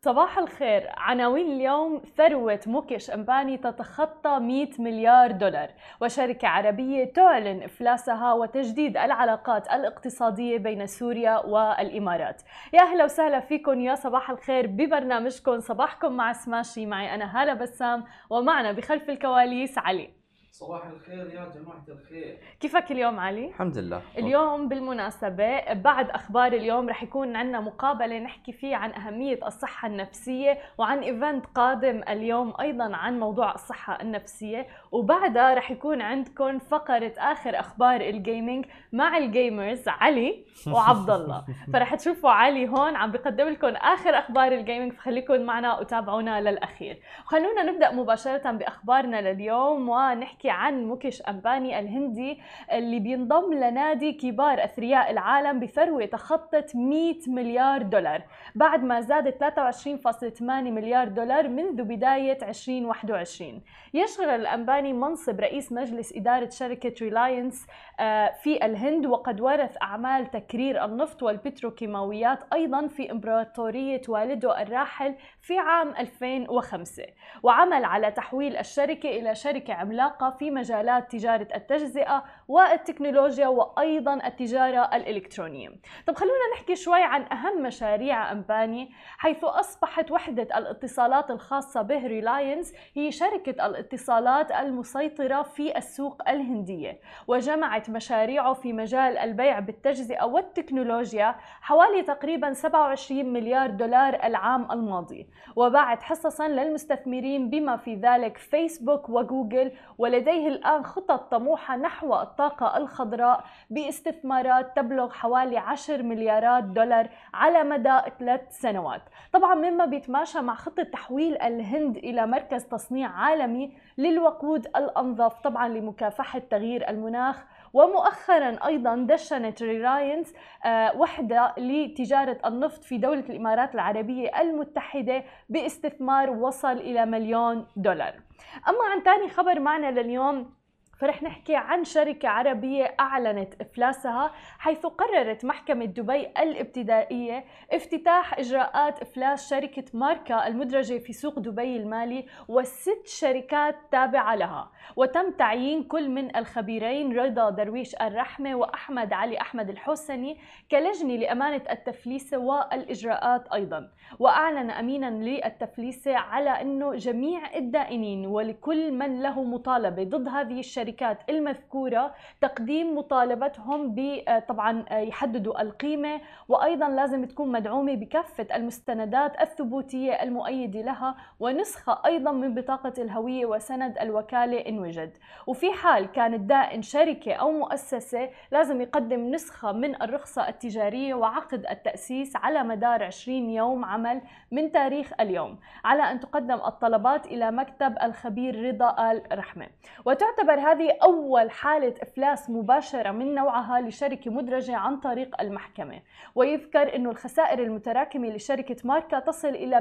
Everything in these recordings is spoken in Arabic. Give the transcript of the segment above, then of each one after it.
صباح الخير. عناوين اليوم: ثروة موكيش أمباني تتخطى 100 مليار دولار، وشركة عربية تعلن إفلاسها، وتجديد العلاقات الاقتصادية بين سوريا والإمارات. يا أهلا وسهلا فيكم، يا صباح الخير ببرنامجكم صباحكم مع سماشي. معي أنا هالة بسام، ومعنا بخلف الكواليس علي. صباح الخير يا جماعة الخير. كيفك اليوم علي؟ الحمد لله. اليوم بالمناسبة بعد أخبار اليوم رح يكون عنا مقابلة نحكي فيه عن أهمية الصحة النفسية، وعن إيفنت قادم اليوم أيضا عن موضوع الصحة النفسية، وبعدها رح يكون عندكم فقرة آخر أخبار الجيمنج مع الجيمرز علي وعبد الله. فرح تشوفوا علي هون عم بقدم لكم آخر أخبار الجيمنج، فخليكم معنا وتابعونا للأخير. خلونا نبدأ مباشرة بأخبارنا لليوم، ونحكي عن موكيش أمباني الهندي اللي بينضم لنادي كبار أثرياء العالم بثروة تخطت 100 مليار دولار بعد ما زادت 23.8 مليار دولار منذ بداية 2021. يشغل الأمباني منصب رئيس مجلس إدارة شركة ريلاينس في الهند، وقد ورث أعمال تكرير النفط والبتروكيماويات أيضا في إمبراطورية والده الراحل في عام 2005، وعمل على تحويل الشركة إلى شركة عملاقة في مجالات تجارة التجزئة والتكنولوجيا وأيضا التجارة الإلكترونية. طب خلونا نحكي شوي عن أهم مشاريع أمباني، حيث أصبحت وحدة الاتصالات الخاصة به ريلاينس هي شركة الاتصالات المسيطرة في السوق الهندية، وجمعت مشاريعه في مجال البيع بالتجزئة والتكنولوجيا حوالي تقريبا 27 مليار دولار العام الماضي، وباعت حصصا للمستثمرين بما في ذلك فيسبوك وجوجل، ولديه الآن خطط طموحة نحو الطاقة الخضراء باستثمارات تبلغ حوالي 10 مليارات دولار على مدى 3 سنوات، طبعا مما بيتماشى مع خطة تحويل الهند إلى مركز تصنيع عالمي للوقود الأنظف طبعا لمكافحة تغيير المناخ. ومؤخرا أيضا دشنت ريلاينس وحدة لتجارة النفط في دولة الإمارات العربية المتحدة باستثمار وصل إلى مليون دولار. أما عن تاني خبر معنا لليوم، فرح نحكي عن شركة عربية أعلنت إفلاسها، حيث قررت محكمة دبي الابتدائية افتتاح إجراءات إفلاس شركة ماركا المدرجة في سوق دبي المالي و6 شركات تابعة لها، وتم تعيين كل من الخبيرين رضا درويش الرحمة وأحمد علي أحمد الحسني كلجنة لأمانة التفليسة والإجراءات أيضا. وأعلن أمينا للتفليسة على أنه جميع الدائنين ولكل من له مطالبة ضد هذه الشركات المذكورة تقديم مطالبتهم طبعا يحددوا القيمة، وأيضا لازم تكون مدعومة بكافة المستندات الثبوتية المؤيدة لها، ونسخة أيضا من بطاقة الهوية وسند الوكالة إن وجد. وفي حال كان الدائن شركة أو مؤسسة لازم يقدم نسخة من الرخصة التجارية وعقد التأسيس على مدار 20 يوم عمل من تاريخ اليوم، على أن تقدم الطلبات إلى مكتب الخبير رضا آل رحمة. وتعتبر هذه أول حالة إفلاس مباشرة من نوعها لشركة مدرجة عن طريق المحكمة. ويذكر أن الخسائر المتراكمة لشركة ماركا تصل إلى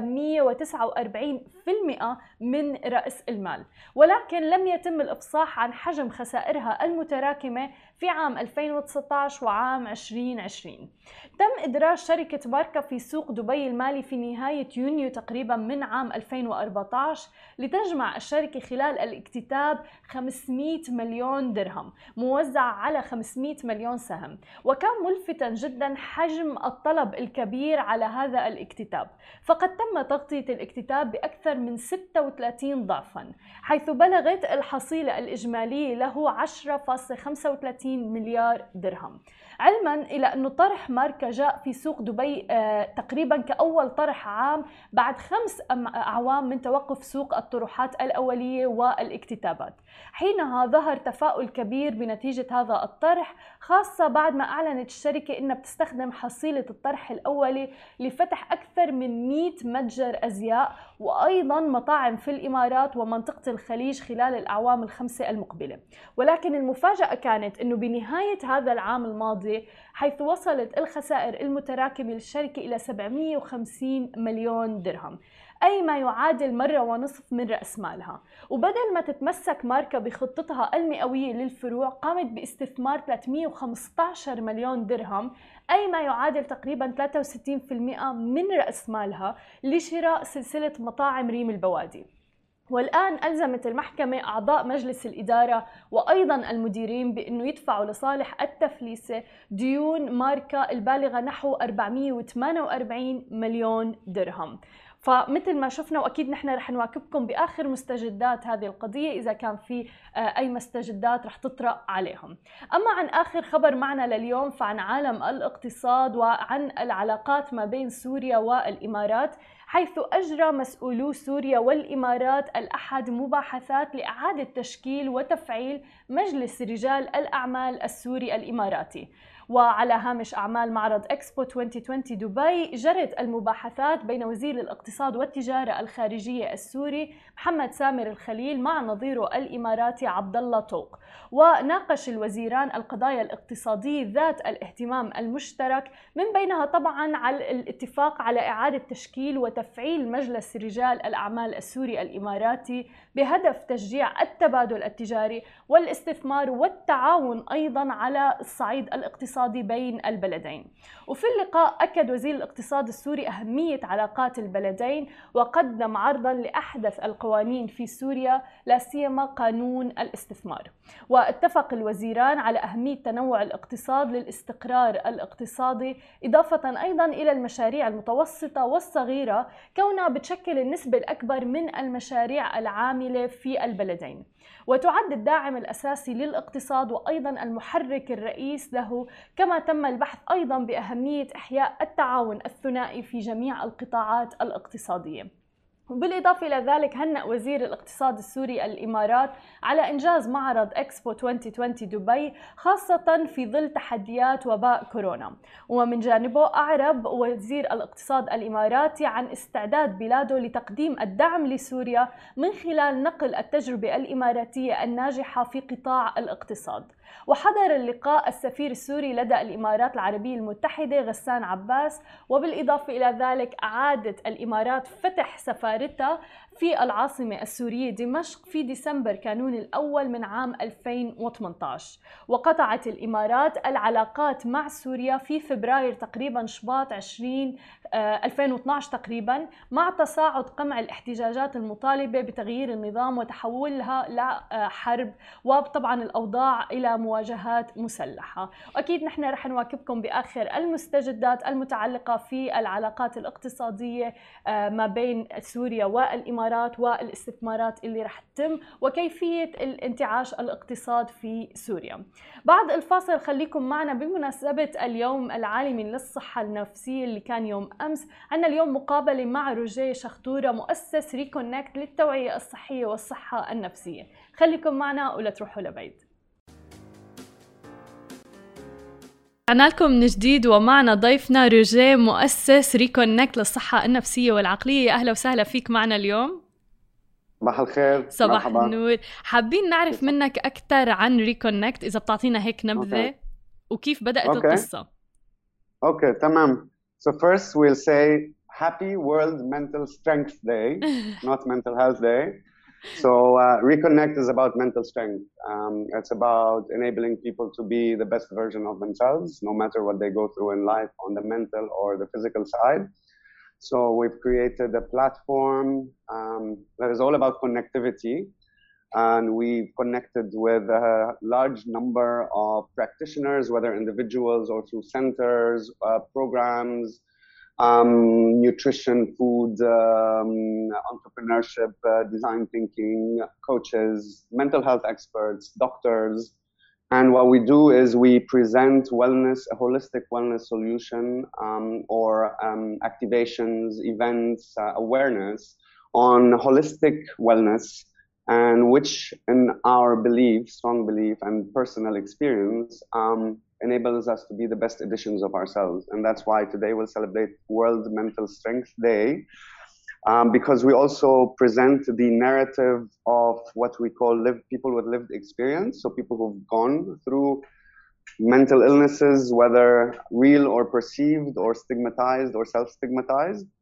149% من رأس المال، ولكن لم يتم الإفصاح عن حجم خسائرها المتراكمة في عام 2019 وعام 2020. تم إدراج شركة ماركا في سوق دبي المالي في نهاية يونيو تقريبا من عام 2014، لتجمع الشركة خلال الاكتتاب 500 مليون درهم موزع على 500 مليون سهم. وكان ملفتا جدا حجم الطلب الكبير على هذا الاكتتاب، فقد تم تغطية الاكتتاب بأكثر من 36 ضعفا، حيث بلغت الحصيلة الإجمالية له 10.35 مليار درهم. علما إلى أنه طرح ماركا جاء في سوق دبي تقريبا كأول طرح عام بعد 5 أعوام من توقف سوق الطروحات الأولية والاكتتابات. حينها ظهر تفاؤل كبير بنتيجة هذا الطرح، خاصة بعد ما أعلنت الشركة أنها بتستخدم حصيلة الطرح الأولي لفتح أكثر من 100 متجر أزياء وأيضا مطاعم في الإمارات ومنطقة الخليج خلال الأعوام ال5 المقبلة. ولكن المفاجأة كانت أنه بنهاية هذا العام الماضي، حيث وصلت الخسائر المتراكمة للشركة إلى 750 مليون درهم. أي ما يعادل 1.5 مرة من رأس مالها. وبدل ما تتمسك ماركا بخطتها المئوية للفروع، قامت باستثمار 315 مليون درهم، أي ما يعادل تقريبا 63% من رأس مالها، لشراء سلسلة مطاعم ريم البوادي. والآن ألزمت المحكمة أعضاء مجلس الإدارة وأيضاً المديرين بأنه يدفعوا لصالح التفليسة ديون ماركا البالغة نحو 448 مليون درهم. فمثل ما شفنا، وأكيد نحن رح نواكبكم بآخر مستجدات هذه القضية إذا كان في أي مستجدات رح تطرأ عليهم. أما عن آخر خبر معنا لليوم فعن عالم الاقتصاد وعن العلاقات ما بين سوريا والإمارات، حيث أجرى مسؤولو سوريا والإمارات الأحد مباحثات لإعادة تشكيل وتفعيل مجلس رجال الأعمال السوري الإماراتي. وعلى هامش أعمال معرض إكسبو 2020 دبي، جرت المباحثات بين وزير الاقتصاد والتجارة الخارجية السوري محمد سامر الخليل مع نظيره الإماراتي عبد الله طوق، وناقش الوزيران القضايا الاقتصادية ذات الاهتمام المشترك، من بينها طبعا على الاتفاق على إعادة تشكيل وتفعيل مجلس رجال الأعمال السوري الإماراتي بهدف تشجيع التبادل التجاري والاستثمار والتعاون أيضا على الصعيد الاقتصادي بين البلدين. وفي اللقاء أكد وزير الاقتصاد السوري أهمية علاقات البلدين، وقدم عرضا لأحدث القوانين في سوريا لا سيما قانون الاستثمار. واتفق الوزيران على أهمية تنوع الاقتصاد للاستقرار الاقتصادي، إضافة أيضا إلى المشاريع المتوسطة والصغيرة كونها بتشكل النسبة الأكبر من المشاريع العاملة في البلدين، وتعد الداعم الأساسي للاقتصاد وأيضا المحرك الرئيس له. كما تم البحث أيضا بأهمية إحياء التعاون الثنائي في جميع القطاعات الاقتصادية. وبالإضافة إلى ذلك، هنأ وزير الاقتصاد السوري الإمارات على إنجاز معرض إكسبو 2020 دبي، خاصة في ظل تحديات وباء كورونا. ومن جانبه أعرب وزير الاقتصاد الإماراتي عن استعداد بلاده لتقديم الدعم لسوريا من خلال نقل التجربة الإماراتية الناجحة في قطاع الاقتصاد. وحضر اللقاء السفير السوري لدى الإمارات العربية المتحدة غسان عباس. وبالإضافة إلى ذلك، أعادت الإمارات فتح سفارتها في العاصمة السورية دمشق في ديسمبر كانون الأول من عام 2018. وقطعت الإمارات العلاقات مع سوريا في فبراير تقريبا شباط 2012 تقريبا، مع تصاعد قمع الاحتجاجات المطالبة بتغيير النظام وتحولها لحرب، وطبعا الأوضاع إلى مواجهات مسلحة. وأكيد نحن رح نواكبكم بآخر المستجدات المتعلقة في العلاقات الاقتصادية ما بين سوريا والإمارات والاستثمارات اللي رح تتم وكيفية الانتعاش الاقتصاد في سوريا. بعد الفاصل خليكم معنا بمناسبة اليوم العالمي للصحة النفسية اللي كان يوم أمس. عندنا اليوم مقابلة مع روجيه شخطورة مؤسس ريكونكت للتوعية الصحية والصحة النفسية. خليكم معنا ولا تروحوا لبعيد. رجعنا لكم من جديد ومعنا ضيفنا روجيه مؤسس ريكونكت للصحة النفسية والعقلية. أهلا وسهلا فيك معنا اليوم. صباح الخير. صباح النور. حابين نعرف منك أكثر عن ريكونكت، إذا بتعطينا هيك نبذة وكيف بدأت القصة. Okay, تمام. So first we'll say Happy World Mental Strength Day, not Mental Health Day. So Reconnect is about mental strength. It's about enabling people to be the best version of themselves, no matter what they go through in life on the mental or the physical side. So we've created a platform that is all about connectivity. And we've connected with a large number of practitioners, whether individuals or through centers, programs, nutrition, food, entrepreneurship, design thinking, coaches, mental health experts, doctors. And what we do is we present wellness, a holistic wellness solution, or activations, events, awareness on holistic wellness, and which in our belief, strong belief and personal experience enables us to be the best editions of ourselves. And that's why today we'll celebrate World Mental Strength Day, because we also present the narrative of what we call people with lived experience. So people who've gone through mental illnesses, whether real or perceived or stigmatized or self-stigmatized.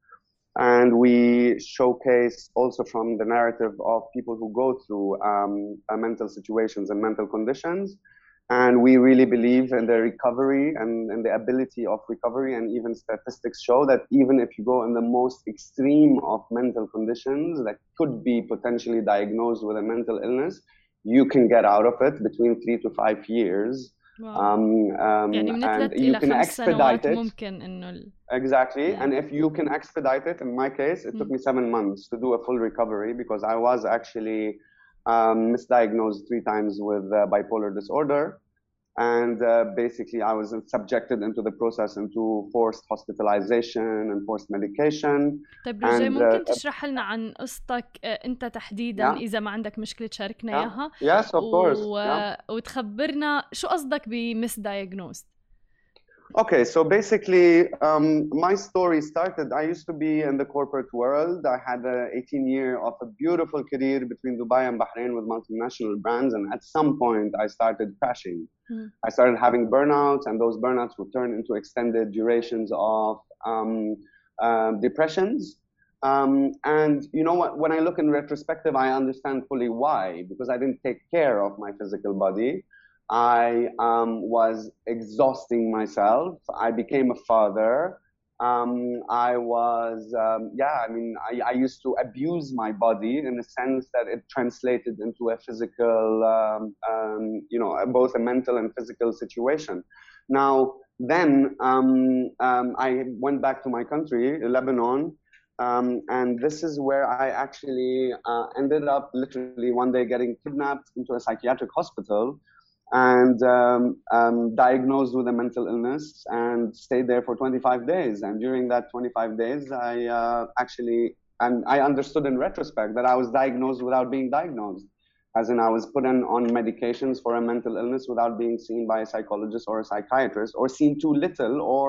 And we showcase also from the narrative of people who go through mental situations and mental conditions. And we really believe in the recovery and in the ability of recovery. And even statistics show that even if you go in the most extreme of mental conditions that could be potentially diagnosed with a mental illness, you can get out of it between 3 to 5 years. يعني من and 3 you إلى can 5 expedite سنوات it. ممكن إنه Exactly. Yeah. And if you can expedite it, in my case, it took me 7 months to do a full recovery because I was actually misdiagnosed 3 times with bipolar disorder. And basically, I was subjected into the process into forced hospitalization and forced medication. طيب رجاء ممكن تشرح لنا عن قصتك أنت تحديداً إذا ما عندك مشكلة تشاركنا إياها. Yes, of course. وتخبرنا شو قصدك بmisdiagnosed. Okay, so basically, my story started. I used to be in the corporate world. I had an 18-year of a beautiful career between Dubai and Bahrain with multinational brands. And at some point, I started crashing. I started having burnouts, and those burnouts would turn into extended durations of depressions. And you know what? When I look in retrospective, I understand fully why, because I didn't take care of my physical body. I was exhausting myself. I became a father. I was, I used to abuse my body in the sense that it translated into a physical, both a mental and physical situation. Now, then I went back to my country, Lebanon, and this is where I actually ended up literally one day getting kidnapped into a psychiatric hospital and diagnosed with a mental illness and stayed there for 25 days. And during that 25 days, I understood in retrospect that I was diagnosed without being diagnosed. As in, I was put on medications for a mental illness without being seen by a psychologist or a psychiatrist, or seen too little, or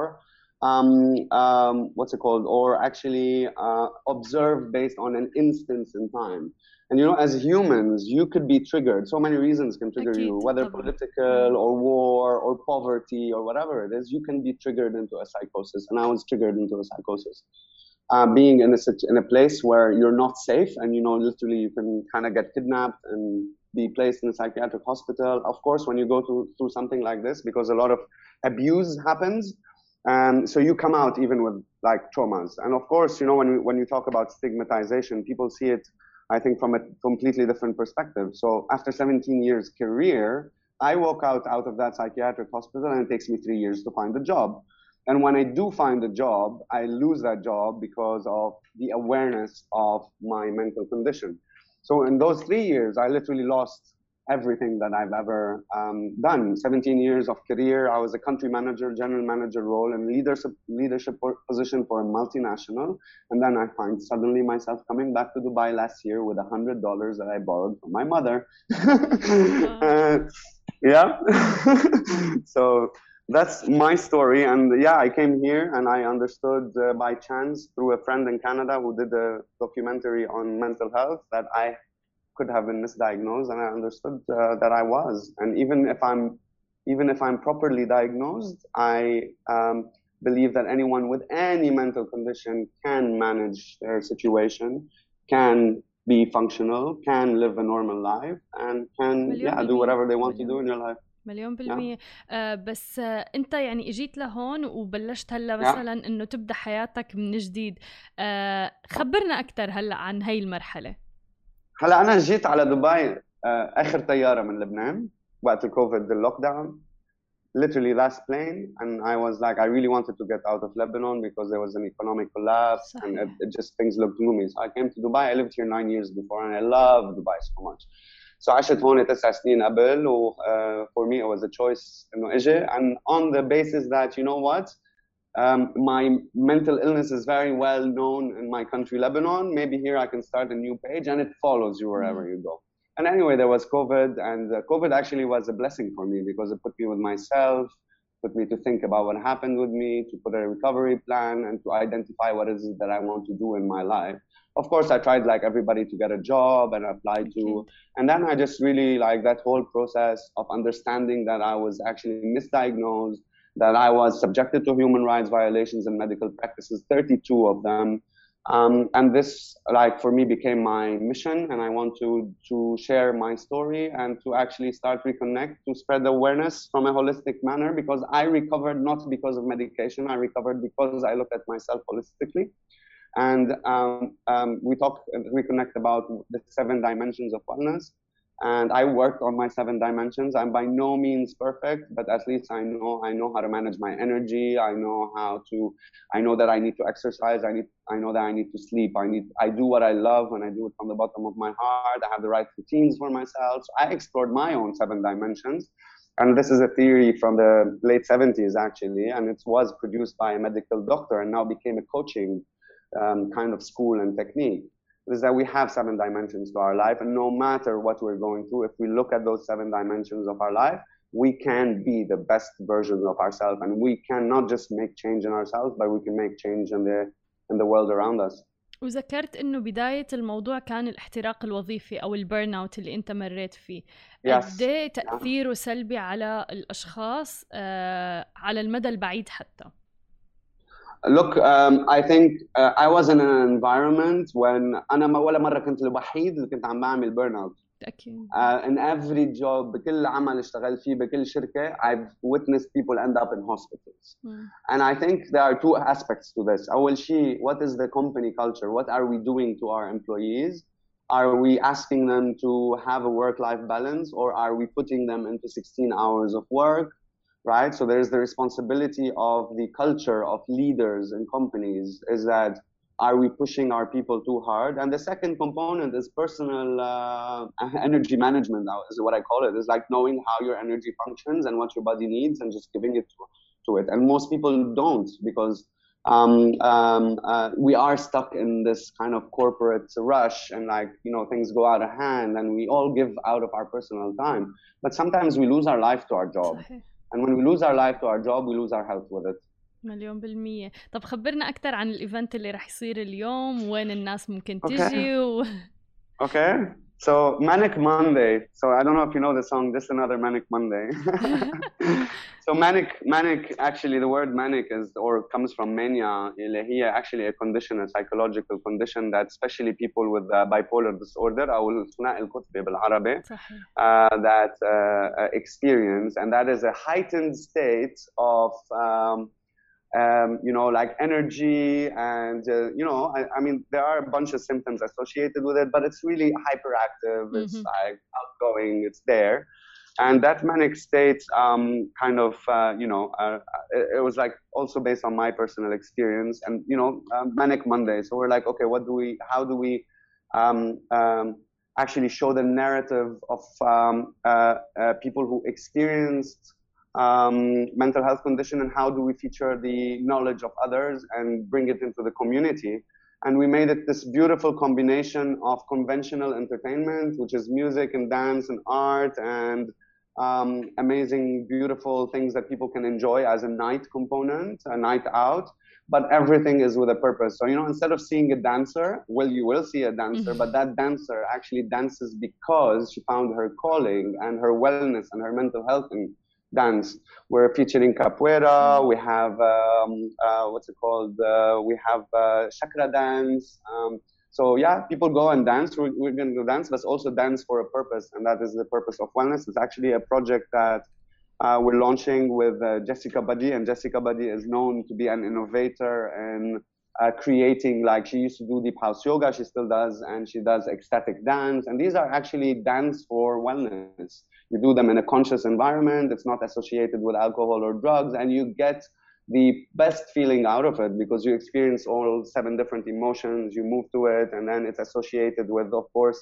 or actually observed based on an instance in time. And you know, as humans, you could be triggered. So many reasons can trigger you, whether political or war or poverty or whatever it is. You can be triggered into a psychosis, and I was triggered into a psychosis. Being in a place where you're not safe, and you know, literally, you can kind of get kidnapped and be placed in a psychiatric hospital. Of course, when you go through something like this, because a lot of abuse happens, so you come out even with like traumas. And of course, you know, when you talk about stigmatization, people see it, I think, from a completely different perspective. So after 17 years career, I walk out of that psychiatric hospital, and it takes me 3 years to find a job. And when I do find a job, I lose that job because of the awareness of my mental condition. So in those 3 years, I literally lost everything that I've ever done. 17 years of career. I was a country manager, general manager role, and leadership position for a multinational. And then I find suddenly myself coming back to Dubai last year with $100 that I borrowed from my mother. Yeah. So that's my story. And yeah, I came here and I understood by chance through a friend in Canada who did a documentary on mental health that I could have been misdiagnosed, and I understood that I was. And even if I'm properly diagnosed, I believe that anyone with any mental condition can manage their situation, can be functional, can live a normal life, and can do whatever they want to do in your life. مليون بالمية. بس أنت يعني إجيت لهون وبلشت هلا مثلا إنه تبدأ حياتك من جديد. خبرنا أكتر هلا عن هاي المرحلة. هلا أنا جيت على دبي آخر طيارة من لبنان وقت الكوفيد اللوك داون. Literally last plane, and I was like, I really wanted to get out of Lebanon because there was an economic collapse and it just things looked gloomy. So I came to Dubai. I lived here 9 years before, and I love Dubai so much. So عشت هون 9 سنين قبل, و for me it was a choice إنه أجي, and on the basis that, you know what, my mental illness is very well known in my country, Lebanon. Maybe here I can start a new page, and it follows you wherever you go. And anyway, there was COVID, and COVID actually was a blessing for me because it put me with myself, put me to think about what happened with me, to put a recovery plan, and to identify what is it that I want to do in my life. Of course, I tried like everybody to get a job and apply to, and then I just really like that whole process of understanding that I was actually misdiagnosed, that I was subjected to human rights violations and medical practices, 32 of them. And this, like, for me, became my mission, and I want to share my story and to actually start reconnect, to spread awareness from a holistic manner, because I recovered not because of medication. I recovered because I looked at myself holistically. And we talk and reconnect about the 7 dimensions of wellness. And I worked on my 7 dimensions. I'm by no means perfect, but at least I know how to manage my energy. I know that I need to exercise. I know that I need to sleep. I do what I love, and I do it from the bottom of my heart. I have the right routines for myself. So I explored my own 7 dimensions. And this is a theory from the late 70s, actually. And it was produced by a medical doctor and now became a coaching kind of school and technique. Is that we have 7 dimensions to our life, and no matter what we're going through, if we look at those 7 dimensions of our life, we can be the best versions of ourselves, and we can not just make change in ourselves, but we can make change in the world around us. وذكرت إنه بداية الموضوع كان الاحتراق الوظيفي أو البرن أوت اللي أنت مريت فيه. قد إيه تأثيره سلبي على الأشخاص على المدى البعيد حتى؟ Look, I think I was in an environment when أنا ولا مرة كنت الوحيد اللي كنت عم بعمل burn out. In every job, بكل عمل اشتغلت فيه بكل شركة, I've witnessed people end up in hospitals. And I think there are 2 aspects to this. أول شيء, what is the company culture? What are we doing to our employees? Are we asking them to have a work-life balance, or are we putting them into 16 hours of work? Right? So there's the responsibility of the culture of leaders and companies, is that are we pushing our people too hard? And the second component is personal energy management, now is what I call it. It's like knowing how your energy functions and what your body needs and just giving it to it. And most people don't, because we are stuck in this kind of corporate rush, and like, you know, things go out of hand and we all give out of our personal time. But sometimes we lose our life to our job. And when we lose our life to our job, we lose our health with it. 1,000,000%. طب خبرنا أكتر عن الإيفنت اللي رح يصير اليوم، وين الناس ممكن تجي Okay. So Manic Monday. So I don't know if you know the song, Just Another Manic Monday. So manic, actually the word manic comes from mania. هي actually a condition, a psychological condition that especially people with bipolar disorder, أو الثنائي القطبي بالعربي, that experience, and that is a heightened state of you know, like energy and you know, I mean, there are a bunch of symptoms associated with it, but it's really hyperactive. It's like outgoing. It's there, and that manic state kind of you know, it was like also based on my personal experience, and you know, Manic Monday. So we're like, okay, how do we actually show the narrative of people who experienced mental health condition, and how do we feature the knowledge of others and bring it into the community? And we made it this beautiful combination of conventional entertainment, which is music and dance and art and amazing, beautiful things that people can enjoy as a night component, a night out, but everything is with a purpose. So, you know, instead of seeing a dancer, well, you will see a dancer, but that dancer actually dances because she found her calling and her wellness and her mental health in dance. We're featuring capoeira, we have what's it called, we have chakra dance. So yeah, people go and dance. We're going to dance, but also dance for a purpose, and that is the purpose of wellness. It's actually a project that we're launching with Jessica Buddy, and Jessica Buddy is known to be an innovator in creating, like, she used to do deep house yoga, she still does, and she does ecstatic dance, and these are actually dance for wellness. You do them in a conscious environment, it's not associated with alcohol or drugs, and you get the best feeling out of it because you experience all 7 different emotions, you move to it, and then it's associated with, of course,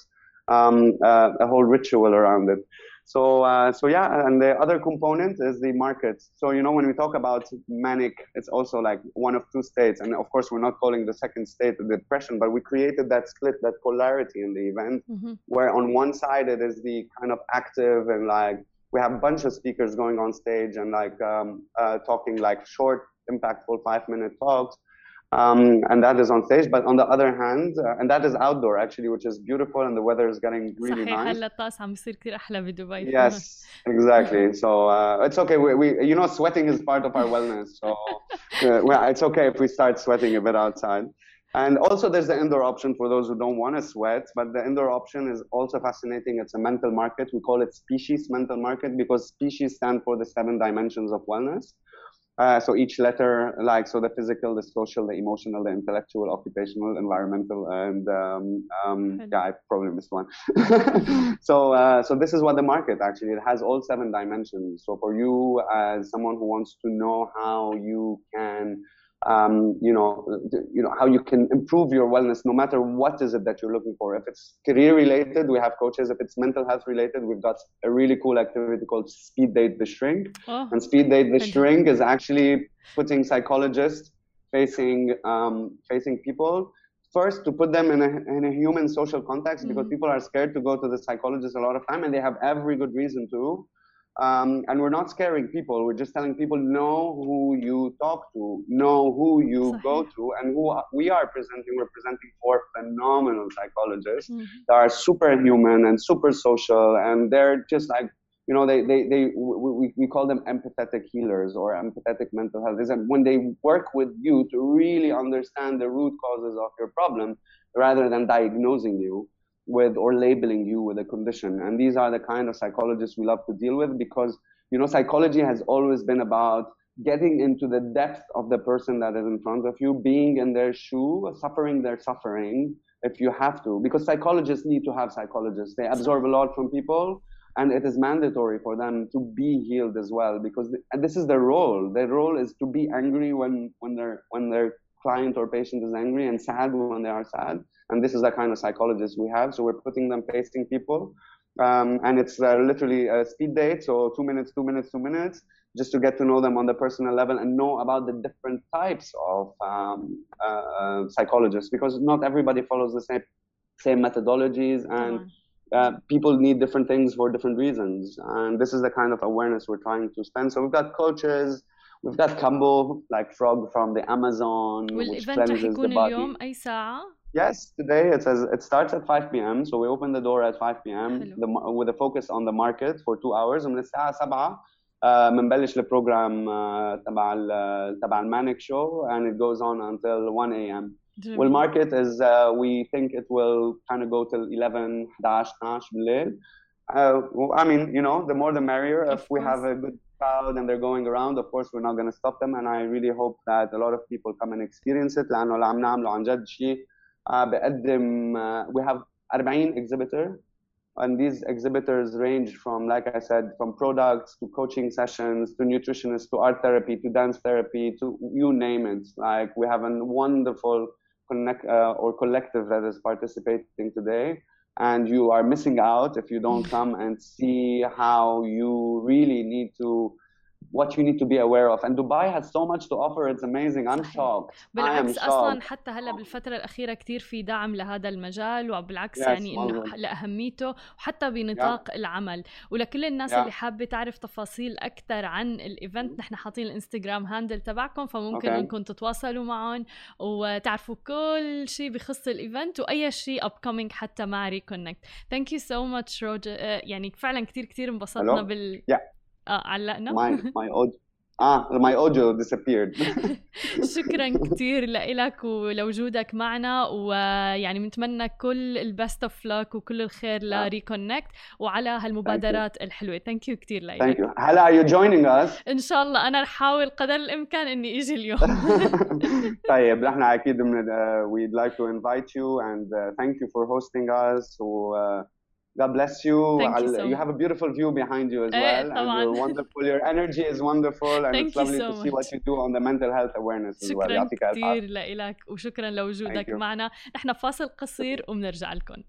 a whole ritual around it. So yeah, and the other component is the market. So, you know, when we talk about manic, it's also like one of 2 states. And of course, we're not calling the second state the depression, but we created that split, that polarity in the event, where on one side it is the kind of active, and like we have a bunch of speakers going on stage and like talking like short, impactful 5-minute talks. And that is on stage, but on the other hand, and that is outdoor actually, which is beautiful, and the weather is getting really صحيح. nice. هلا الطقس عم يصير كثير أحلى بدبي. Yes, exactly. So it's okay. We you know, sweating is part of our wellness. So it's okay if we start sweating a bit outside. And also there's the indoor option for those who don't want to sweat, but the indoor option is also fascinating. It's a mental market. We call it species mental market because species stand for the 7 dimensions of wellness. So each letter, like, so the physical, the social, the emotional, the intellectual, occupational, environmental, and yeah, I probably missed one. So this is what the market actually, it has all 7 dimensions. So for you as someone who wants to know how you can, how you can improve your wellness, no matter what is it that you're looking for. If it's career related, we have coaches. If it's mental health related, we've got a really cool activity called Speed Date the Shrink. And Speed Date the Shrink is actually putting psychologists facing people first to put them in a human social context, because people are scared to go to the psychologist a lot of time, and they have every good reason to. And we're not scaring people. We're just telling people, know who you talk to, know who you go to, and who we are presenting. We're presenting 4 phenomenal psychologists that are superhuman and super social, and they're just like, we call them empathetic healers or empathetic mental health. Is that when they work with you to really understand the root causes of your problem, rather than diagnosing you with or labeling you with a condition. And these are the kind of psychologists we love to deal with, because psychology has always been about getting into the depth of the person that is in front of you, being in their shoe, suffering their suffering if you have to, because psychologists need to have psychologists. They absorb a lot from people, and it is mandatory for them to be healed as well, because and this is their role. Their role is to be angry when their client or patient is angry, and sad when they are sad. And this is the kind of psychologists we have. So we're putting them facing people. And it's literally a speed date. So 2 minutes, 2 minutes, 2 minutes, just to get to know them on the personal level and know about the different types of psychologists, because not everybody follows the same methodologies, and people need different things for different reasons. And this is the kind of awareness we're trying to spend. So we've got coaches, we've got Kambo, like frog from the Amazon, which cleanses the body. اليوم أي ساعة؟ Yes, today it starts at 5 p.m. So we open the door at 5 p.m. With a focus on the market for 2 hours. ومن الساعة 7 بنبلش البروجرام تبع المانيك show, and it goes on until 1 a.m. Well, market is we think it will kind of go till 11, 12 بالليل. I mean, the more the merrier. If we have a good crowd and they're going around, of course we're not going to stop them, and I really hope that a lot of people come and experience it, لأنه اللي عم نعمله عن جد شيء بقدم. We have 40 exhibitor, and these exhibitors range from, like I said, from products to coaching sessions to nutritionists to art therapy to dance therapy to you name it. Like, we have a wonderful collective that is participating today, and you are missing out if you don't come and see how you really need to, what you need to be aware of. And Dubai has so much to offer. It's amazing. I'm shocked. بالعكس أصلاً حتى هلا بالفترة الأخيرة كتير في دعم لهذا المجال، وبالعكس يعني إنه لأهميته وحتى بنطاق العمل. ولكل الناس اللي حابة تعرف تفاصيل أكتر عن الإيفنت، نحن حاطين الإنستغرام هاندل تبعكم، فممكن أنكم تتواصلوا معهم وتعرفوا كل شيء بخص الإيفنت وأي شيء upcoming حتى مع ريكونكت. Thank you so much روجر. يعني فعلاً كتير انبسطنا علقنا. my audio disappeared. شكرا كتير لك ولوجودك معنا، ويعني بنتمنى كل البست اوف لاك وكل الخير لريكونكت وعلى هالمبادرات الحلوه. ثانك يو كتير لك. هلا are you joining us؟ ان شاء الله انا رح احاول قدر الامكان اني اجي اليوم. طيب نحن اكيد we'd like to invite you and thank you for hosting us. God bless you. You have a beautiful view behind you as well, and you're wonderful. Your energy is wonderful, and it's lovely to see what you do on the mental health awareness as well. شكرا كثير لك وشكرا لوجودك معنا. نحن فاصل قصير وبنرجع لكم.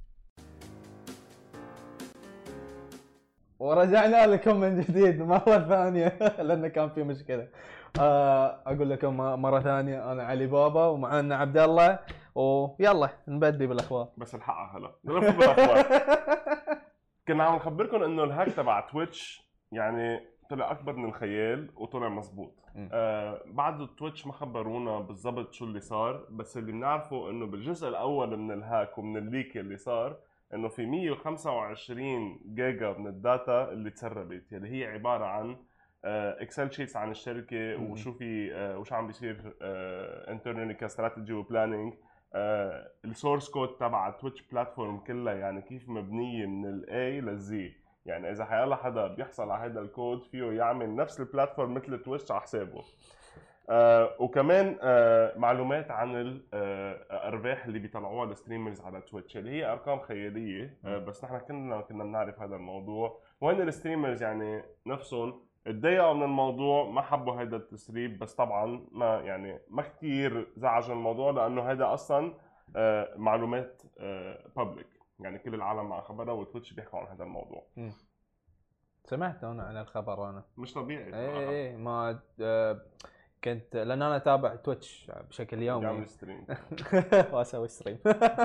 ورجعنا لكم من جديد مرة ثانية لأن كان في مشكلة. أقول لكم مرة ثانية أنا علي بابا ومعنا عبد الله، ويلا نبدي بالأخبار. بس الحقها هلا نرفض بالأخبار. كنا عم نخبركم إنه الهاك تبع تويتش يعني طلع أكبر من الخيال وطلع مزبوط. بعد تويتش ما خبرونا بالضبط شو اللي صار، بس اللي بنعرفه إنه بالجزء الأول من الهاك ومن الليك اللي صار إنه في 125 جيجا من الداتا اللي تسربت، اللي هي عبارة عن اكسل شيتس عن الشركه وشو في وشو عم بيصير انترنالي كاستراتيجي وبلاننج، السورس كود تبع تويتش بلاتفورم كلها يعني كيف مبنيه من الاي للزي. يعني اذا حيلا حدا بيحصل على هذا الكود فيه يعمل نفس البلاتفورم مثل تويتش على حسابه. وكمان معلومات عن الارباح اللي بيطلعوها الستريمرز على تويتش اللي هي ارقام خياليه. بس نحن كنا بنعرف هذا الموضوع، وهن الستريمرز يعني نفسهم اتضايقوا من الموضوع، ما حبوا هذا التسريب. بس طبعا ما كثير زعج الموضوع لانه هذا اصلا معلومات بابليك، يعني كل العالم مع خبرها، وتويتش بيحكوا عن هذا الموضوع. سمعت انا عن الخبر انا. مش طبيعي. ايه ما كنت لان انا اتابع تويتش بشكل يومي. يعمل ستريم واسوي ستريم.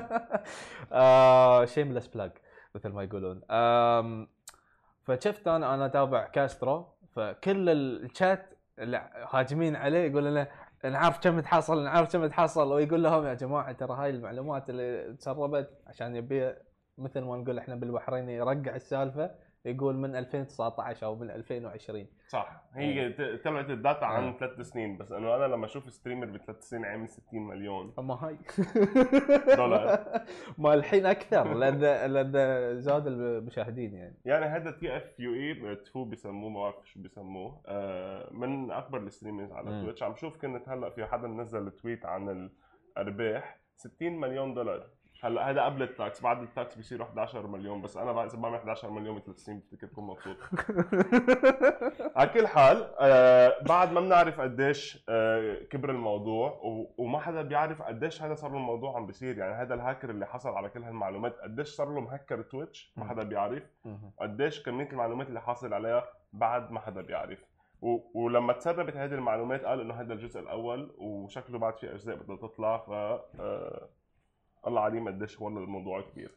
شيملس بلاج مثل ما يقولون. فشفت انا اتابع كاسترو، فكل الشات اللي هاجمين عليه يقول لنا نعرف كم تحصل ويقول لهم يا جماعه ترى هاي المعلومات اللي تسربت عشان يبي مثل ما نقول احنا بالبحرين يرجع السالفه، يقول من 2019 او من 2020. صح. هي طلعت الداتا عن 3 سنين، بس انه انا لما اشوف ستريمر ب3 سنين عامل 60 مليون اما هاي دولار ما الحين اكثر لان زاد المشاهدين يعني هذا تي اف يو اي تفو بيسموه، ما بعرف شو بيسموه، من اكبر الستريمرز على تويتش. عم شوف كنت هلا في حدا نزل تويت عن الارباح 60 مليون دولار. هلا هذا قبل التاكس، بعد التاكس بيصيروا 11 مليون. بس انا اذا بعمل 11 مليون ب3 سنين بفتكر بكون مبسوط. على كل حال بعد ما بنعرف قديش كبر الموضوع، وما حدا بيعرف قديش هذا صار له الموضوع عم بيصير. يعني هذا الهاكر اللي حصل على كل هالمعلومات قديش صار له مهكر تويتش ما حدا بيعرف، قديش كميه المعلومات اللي حاصل عليها بعد ما حدا بيعرف. ولما تسربت هذه المعلومات قال انه هذا الجزء الاول وشكله بعد في اجزاء بدها تطلع. ف الله عليم قديش والله الموضوع كبير.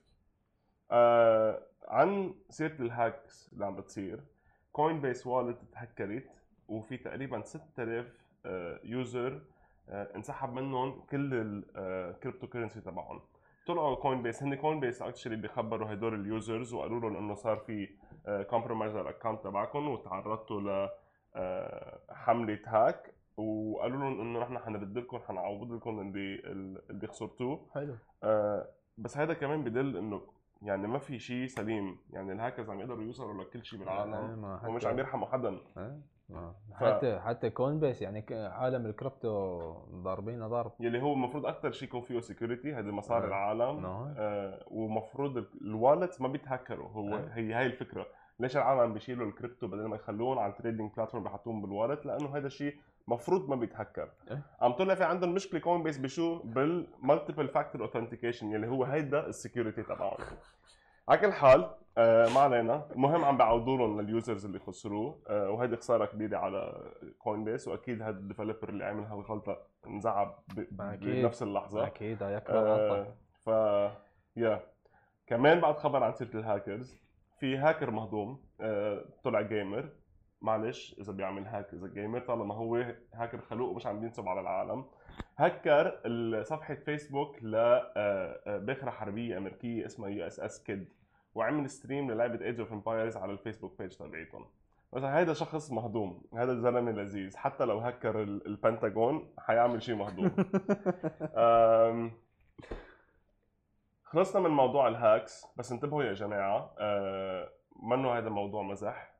عن سيره الهاكس اللي عم بتصير، كوين بيس والت تهكرت وفي تقريبا 6000 يوزر انسحب منهم كل الكريبتو كرنسي تبعهم. طلعوا كوين بيس، هن كوين بيس اكشلي بيخبروا هدول اليوزرز وقالوا لهم انه صار في كومبرومايز على الاكونت تبعكم وتعرضتوا ل حمله هاك، وقالوا لهم انه نحن حنرد لكم، حنعوض لكم اللي خسرتوه. حلو. بس هذا كمان بدل انه يعني ما في شيء سليم. يعني الهاكرز عم يقدروا يوصلوا لكل شيء بالعالم ومش عم يرحموا حدا. حتى كوين بيس يعني عالم الكريبتو ضاربين ضرب، يلي هو المفروض اكثر شيء يكون فيه سكيورتي، هذه مصاري العالم. ومفروض الوالتس ما بيتهكروا. هي هاي الفكره. ليش العالم عم بيشيلوا الكريبتو بدل ما يخلوهم على التريدنج بلاتفورم بيحطوهم بالوالت؟ لانه هذا الشيء مفروض ما بيتهكر. عم طلع في عندهم مشكله كوين بيس بشو؟ بالمالتيبل فاكتور اوثنتيكيشن يلي هو هيدا السكيورتي تبعهم. على كل حال ما علينا، المهم عم بيعوضوا لهم لليوزرز اللي خسروه، وهيدي خساره كبيره على كوين بيس. واكيد هذا الديفلوبر اللي عمل هالغلطه انزعب بنفس اللحظه. اكيد ياكل ف كمان بعد خبر عن سيره الهاكرز، في هاكر مهضوم طلع جيمر. معلش اذا بيعمل هاك اذا جيمر، طالما هو هاكر خلوق ومش عم بينصب على العالم. هكر صفحه فيسبوك لباخره حربيه امريكيه اسمها USS كيد، وعمل ستريم للعبه ايج اوف امبايرز على الفيسبوك بيج تبعيتهم. بس هيدا شخص مهضوم، هذا الزلمه لذيذ. حتى لو هكر البنتاغون حيعمل شيء مهضوم. خلصنا من موضوع الهاكس، بس انتبهوا يا جماعه، منه هذا الموضوع مزح.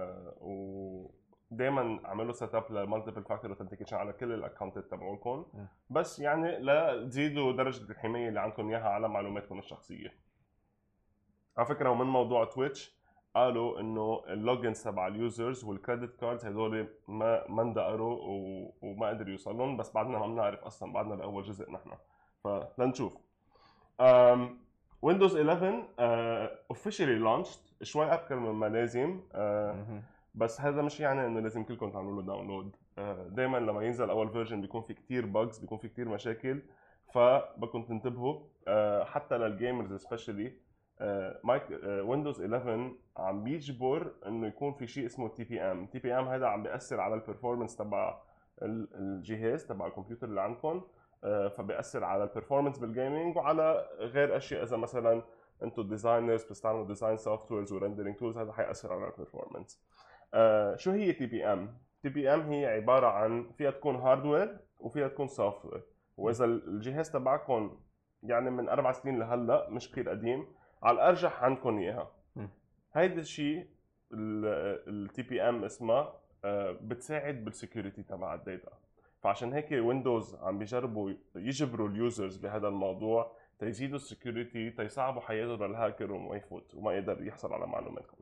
ودائما اعملوا سيت اب لمالتيبل فاكتور اوثنتيكيشن على كل الاكونتات تبعولكم، بس يعني لا تزيدوا درجه الحمايه اللي عندكم اياها على معلوماتكم الشخصيه. على فكره ومن موضوع تويتش قالوا انه اللوجنز تبع اليوزرز والكريدت كاردز هذول ما اندقروا وما قدروا يوصلون، بس بعدنا ما بنعرف اصلا، بعدنا باول جزء نحن، فلنشوف. ويندوز 11 officially launched شوي ابكر مما لازم. بس هذا مش يعني انه لازم كلكم تعملوا له داونلود. دائما لما ينزل اول فيرجن بيكون في كتير باجز، بيكون في كتير مشاكل، فبكم تنتبهوا حتى للجيمرز سبيشالي. ويندوز 11 عم بيجبر انه يكون في شيء اسمه TPM. TPM هذا عم بيأثر على البرفورمانس تبع الجهاز تبع الكمبيوتر اللي عندكم، فبيأثر على البرفورمانس بالجيمنج وعلى غير اشياء. اذا مثلا انتم ديزاينرز بتستعملوا ديزاين سوفت ويرز ورندرينج تولز، هذا حيأثر على البرفورمانس. شو هي TPM؟ TPM هي عباره عن فيها تكون هاردوير وفيها تكون سوفت وير. واذا الجهاز تبعكم يعني من 4 سنين لهلا مش كثير قديم، على الارجح عندكم اياها. هيدا الشيء التي بي ام اسمها بتساعد بالسكيورتي تبع الداتا. فعشان هيك ويندوز عم بيجربوا يجبروا اليوزرز بهذا الموضوع تيزيدوا السكيورتي تيصعبوا حياته للهاكر وما يفوت وما يقدر يحصل على معلوماتكم.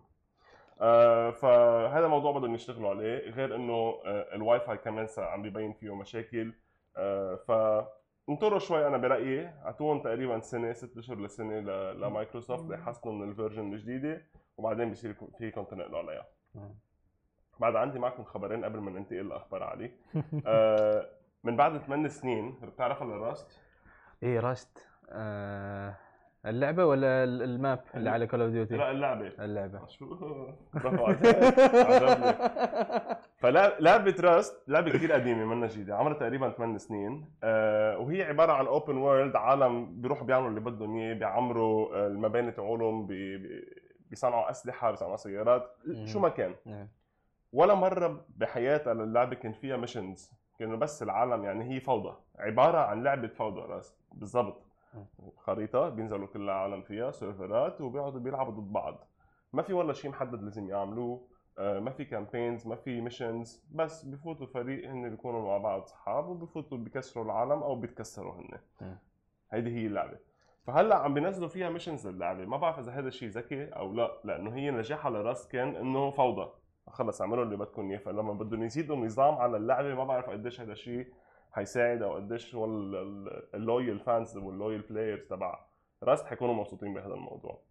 فهذا موضوع بدهم يشتغلوا عليه، غير انه الواي فاي كمان عم بيبين فيه مشاكل. فانطروا شوي، انا برايي اعطوهم تقريبا سنه 6 اشهر لسنه لمايكروسوفت ليحسنوا من الفيرجن الجديده، وبعدين بصير فيكم تنقلوا عليها. بعد عندي معكم خبرين قبل ما ننتقل لاخبار علي. من بعد 8 سنين بتعرفوا الراست؟ ايه راست. اللعبه ولا الماب اللي على كول اوف ديوتي؟ لا اللعبه. شو برافو عليك، عجبني. فلعبه راست لعبه كثير قديمه منا جديده، عمرها تقريبا 8 سنين. وهي عباره عن اوبن وورلد، عالم بيروحوا بيعملوا اللي بدهم اياه، بيعمروا المباني تبعولهم، بيصنعوا اسلحه، بيصنعوا سيارات، شو ما كان. ولا مره بحياتها اللعبه كان فيها ميشنز، كانوا بس العالم يعني هي فوضى، عباره عن لعبه فوضى راست بالضبط. خريطه بينزلوا كل العالم فيها، سيرفرات، وبيقعدوا بيلعبوا ضد بعض. ما في ولا شيء محدد لازم يعملوه، ما في كامبينز، ما في ميشنز، بس بفوتوا فريق هن بيكونوا مع بعض اصحاب وبفوتوا بيكسروا العالم او بيتكسروا هن. هيدي هي اللعبه. فهلا عم بينزلوا فيها ميشنز للعبه، ما بعرف اذا هذا الشيء ذكي او لا، لانه هي نجاحها لراست كان انه فوضى، خلص اعملوا اللي بدكم اياه. فلما بدهم يزيدوا نظام على اللعبه ما بعرف قديش هذا الشيء حيساعد او قديش هو اللويال فانز واللويال بلايرز تبع راست حيكونوا مبسوطين بهذا الموضوع.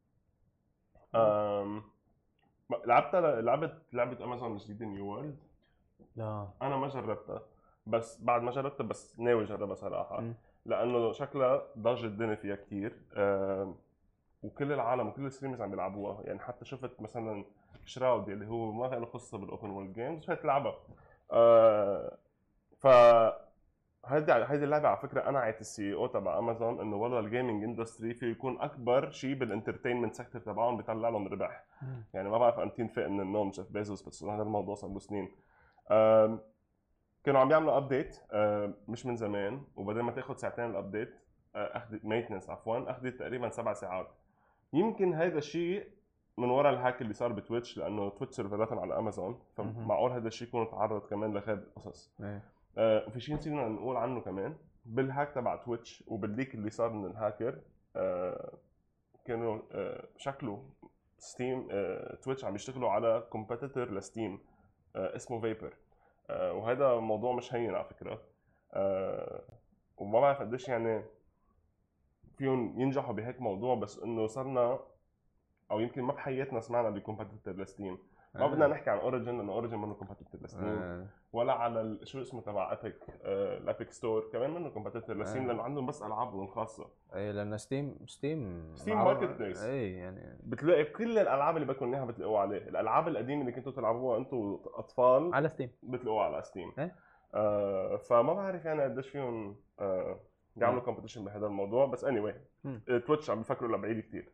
لعبه امازون الجديده نيو وورلد؟ لا انا ما جربتها، بس بعد ما جربتها بس ناوي اجربها صراحه. لانه شكلها ضج الدنيا فيها كثير، وكل العالم وكل الستريمرز عم بيلعبوها. يعني حتى شفت مثلا شراود اللي هو ما له قصه بالاوبن وورلد جيمز فات لعبها. ف هيدي اللعبه على فكره قنعت السي او تبع امازون انه والله الجيمنج اندستري فيه يكون اكبر شيء بالانترتينمنت سيكتور تبعهم، بيطلع لهم ربح. يعني ما بعرف امتى فاق من النوم جيف بيزوس، بس هذا الموضوع صار له سنين. كانوا عم يعملوا ابديت مش من زمان، وبدل ما تاخذ ساعتين الابديت اخذت مينتنس اخذت تقريبا 7 ساعات. يمكن هذا الشيء من وراء الهاك اللي صار بتويتش، لانه تويتش سيرفراتهم على امازون، فمعقول هذا الشيء يكون تعرض كمان لهذه القصص. وفي شيء نسينا نقول عنه كمان بالهاك تبع تويتش وبالليك اللي صار من الهاكر. كانوا شكله ستيم تويتش عم يشتغلوا على كومبيتيتور لستيم اسمه فيبر. وهذا موضوع مش هين على فكره. وما بعرف قديش يعني فيهم ينجحوا بهيك موضوع، بس انه صرنا او يمكن ما بحياتنا سمعنا بكومبيتيتور لستيم. ما بدنا نحكي عن اوريجن لانه اوريجن منه كومبيتيتور لستيم، ولا على شو اسمه تبع ابيك الابيك ستور كمان منه كومبيتيتور لستيم، لانه عندهم بس العابهم الخاصه. اي لان ستيم ماركت بليس. اي يعني بتلاقي كل الالعاب اللي بدكم اياها بتلاقوها عليه. الالعاب القديمه اللي كنتوا تلعبوها انتم اطفال على ستيم بتلاقوها على ستيم. فما بعرف يعني قديش فيهم يعملوا كومبيتيشن بهذا الموضوع، بس اني واي تويتش عم بفكروا لبعيد كثير.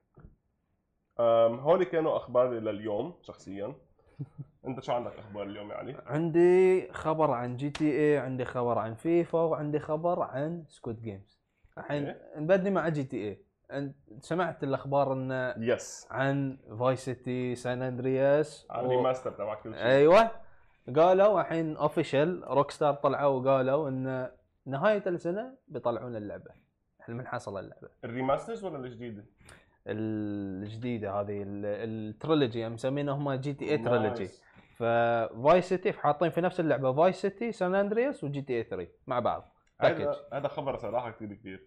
هول كانوا اخباري لليوم شخصيا. انت شو عندك اخبار اليوم يعني؟ عندي خبر عن جي تي اي، عندي خبر عن فيفا، وعندي خبر عن سكوت جيمز. الحين نبدي مع جي تي اي. انت سمعت الاخبار ان يس عن فاي سيتي، سان اندرياس، عن ريماستر تبع كل شيء. ايوه قالوا الحين اوفيشال روك ستار طلعوا وقالوا ان نهايه السنه بيطلعون اللعبه. احنا من حصل اللعبه الريماسترز ولا الجديده؟ الجديده هذه التريلوجي مسمينها هم جي تي اي تريلوجي. ففاي سيتي حاطين في نفس اللعبه فاي سيتي، سان اندرياس، وجي تي اي 3 مع بعض. هذا خبر صراحه كثير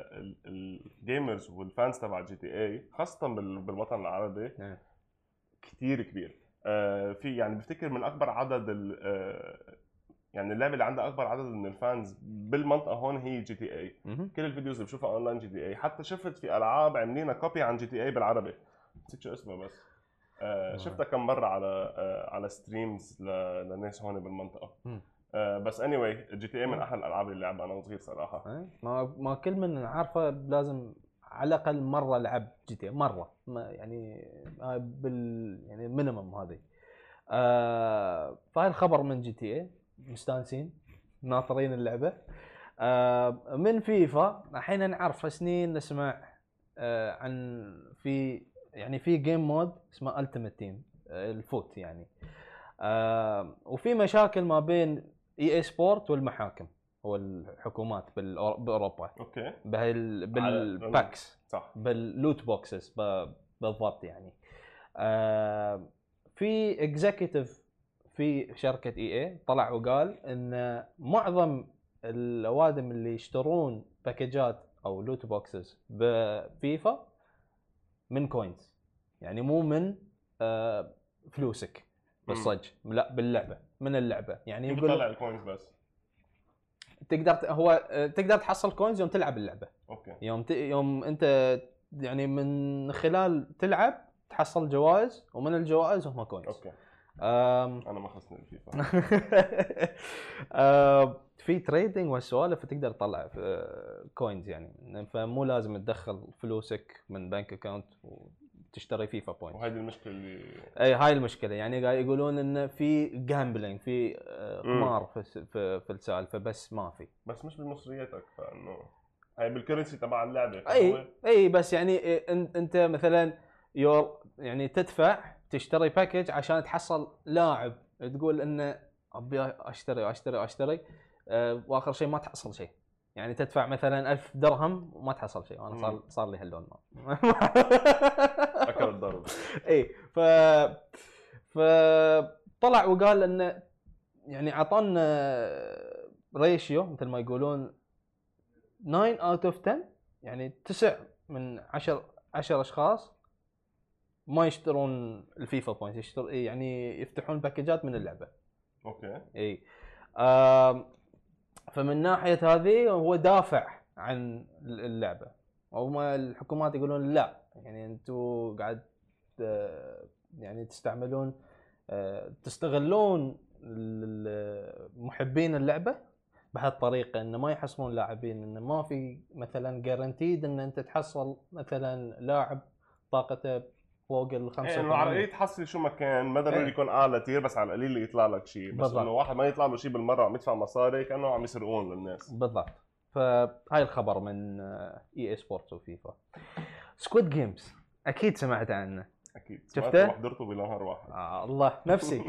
الجيمرز والفانز تبع جي تي اي خاصه بالوطن العربي كثير كبير. في يعني بفتكر من اكبر عدد يعني اللعبه اللي عندها اكبر عدد من الفانز بالمنطقه هون هي جي تي اي. كل الفيديوز اللي بشوفها اونلاين جي تي اي، حتى شفت في العاب عاملينها كوبي عن جي تي اي بالعربي، نسيت شو اسمها بس. شفتها كم مره على ستريمز لناس هون بالمنطقه. بس اني واي جي تي اي من احلى الالعاب اللي لعبها انا وصغير صراحه. ما كل من عارفه لازم على الاقل مره لعب جي تي اي مره، يعني يعني مينيمم هذه. فهاي الخبر من جي تي اي، مستانسين ناطرين اللعبه. من فيفا الحين نعرف سنين نسمع عن في جيم مود اسمه التيمت تيم الفوت يعني. وفي مشاكل ما بين اي سبورت والمحاكم والحكومات باوروبا. اوكي. بالباكس صح، باللوت بوكسز بالضبط يعني. في اكزيكتيف في شركه اي طلع وقال ان معظم الاوادم اللي يشترون باكجات او لوت بوكسز بفيفا من كوينز، يعني مو من فلوسك بالصج، لا باللعبه، من اللعبه يعني. يقول طلع الكوينز بس تقدر تحصل كوينز يوم تلعب اللعبه. اوكي. يوم انت يعني من خلال تلعب تحصل جوائز، ومن الجوائز هم كوينز. اوكي. انا ما خصني الفيفا. في تريدنج والسوالف تقدر تطلع كوينز يعني، فمو لازم تدخل فلوسك من بنك اكاونت وتشتري فيفا بوينتس. وهذه المشكله اللي هاي المشكله يعني. قاعد يقولون انه في جامبلينج، في قمار في السالفه، بس ما في، بس مش بمصرياتك، فانه هاي بالكرنسي تبع اللعبه. اي بس يعني انت مثلا يعني تدفع تشتري باكج عشان تحصل لاعب، تقول انه ابي اشتري واخر شيء ما تحصل شيء. يعني تدفع مثلا 1000 درهم وما تحصل شيء. وانا صار لي هاللون اكل الضرب. اي فطلع وقال انه يعني اعطانا ريشيو مثل ما يقولون 9 اوت اوف 10، يعني 9 من 10 اشخاص ما يشترون الفيفا بوينتس، يعني يفتحون باكجات من اللعبه. اوكي. اي فمن ناحيه هذه هو دافع عن اللعبه. وما الحكومات يقولون لا، يعني انتم قاعد يعني تستغلون محبين اللعبه بهالطريقه، انه ما يحصلون لاعبين، انه ما في مثلا جارانتيد ان انت تحصل مثلا لاعب طاقته فوق ال 85. انه على القليل تحصل شو مكان، ما ضروري يكون اعلى تير، بس على القليل يطلع لك شيء. بس انه واحد ما يطلع له شيء بالمره عم يدفع مصاري كانه عم يسرقون للناس. بالضبط. فهاي الخبر من اي سبورتس وفيفا. سكويد جيمز اكيد سمعت عنه. اكيد شفته وحضرته بنهار واحد. الله نفسي.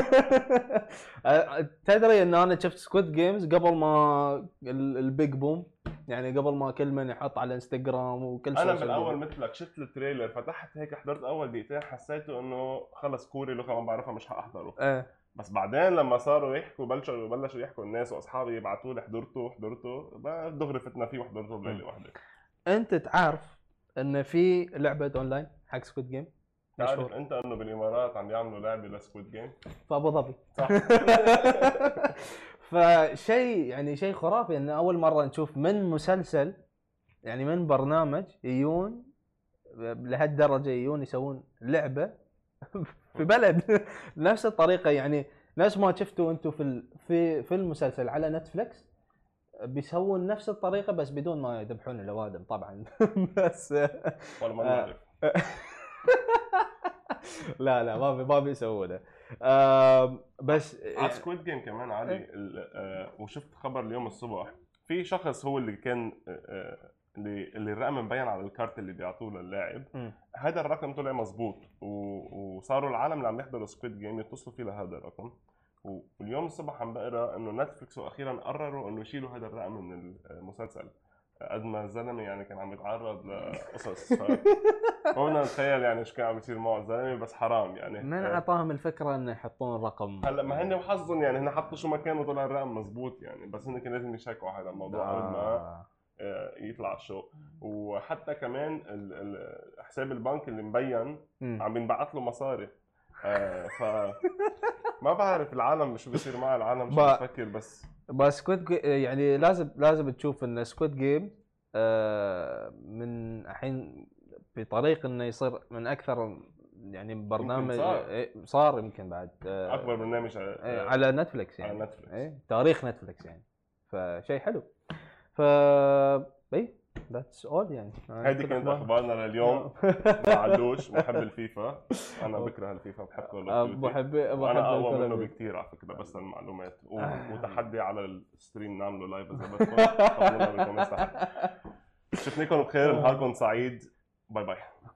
تدري ان انا شفت سكويد جيمز قبل ما البيج بوم، يعني قبل ما كل من يحط على انستغرام وكل شيء. انا بالاول مثلك شفت التريلر، فتحت هيك حضرت اول دقيقتين، حسيته انه خلص كوري لغه ما بعرفها مش حاحضره. بس بعدين لما صاروا يحكوا بلشوا يحكوا الناس واصحابي يبعثوا لي حضرته دغري فتنا فيه وحضرته بليله واحده. انت تعرف ان في لعبه اونلاين حق سكويد جيم؟ تعرف انت انه بالامارات عم يعملوا لعبه لسكويد جيم في ابو ظبي؟ صح. فشيء يعني شيء خرافي ان اول مره نشوف من مسلسل، يعني من برنامج يجون لهالدرجه، يجون يسوون لعبه في بلد نفس الطريقه. يعني نفس ما شفتوا انتم في المسلسل على نتفلكس، بيسوون نفس الطريقه بس بدون ما يذبحون الاوادم طبعا. بس والله ما بعرف. لا ما بيسوونه. بس على سكويد جيم كمان عادي. وشفت خبر اليوم الصبح، في شخص هو اللي كان اللي الرقم مبين على الكارت اللي بيعطوه للاعب. هذا الرقم طلع مزبوط، وصاروا العالم اللي عم يحضروا سكويد جيم يتصلوا فيه لهذا الرقم. واليوم الصبح عم بقرا انه نتفلكس واخيرا قرروا انه يشيلوا هذا الرقم من المسلسل، قد ما الزلمه يعني كان عم يتعرض لقصص. ما بدنا نتخيل يعني ايش كان عم يصير معه الزلمه، بس حرام يعني. من اعطاهم الفكره انه يحطون رقم؟ هلا ما هن وحظهم يعني، هن حطوا شو ما كان وطلع الرقم مزبوط يعني، بس هن كان لازم يشكوا هذا الموضوع قبل ما يطلع الشو. وحتى كمان حساب البنك اللي مبين عم ينبعث له مصاري. ف ما بعرف العالم شو بيصير مع العالم، شو بتفكر. بس سكويد يعني لازم تشوف ان سكويد جيم من الحين بطريق انه يصير من اكثر يعني برنامج صار يمكن بعد اكبر برنامج على نتفلكس يعني. على نتفلكس. تاريخ نتفلكس يعني، فشيء حلو. ذاتس اول يعني. هيدي كانت اخبارنا لليوم. معلوش محب الفيفا، انا بكره الفيفا، بحب كول اوف ديوتي. بحب وانا اقوى منه بكثير على فكره، بس المعلومات وتحدي على الستريم نعمله لايف اذا بدكم. خبرونا بالكومنتس تحت. شفناكم بخير، نهاركم سعيد، باي باي.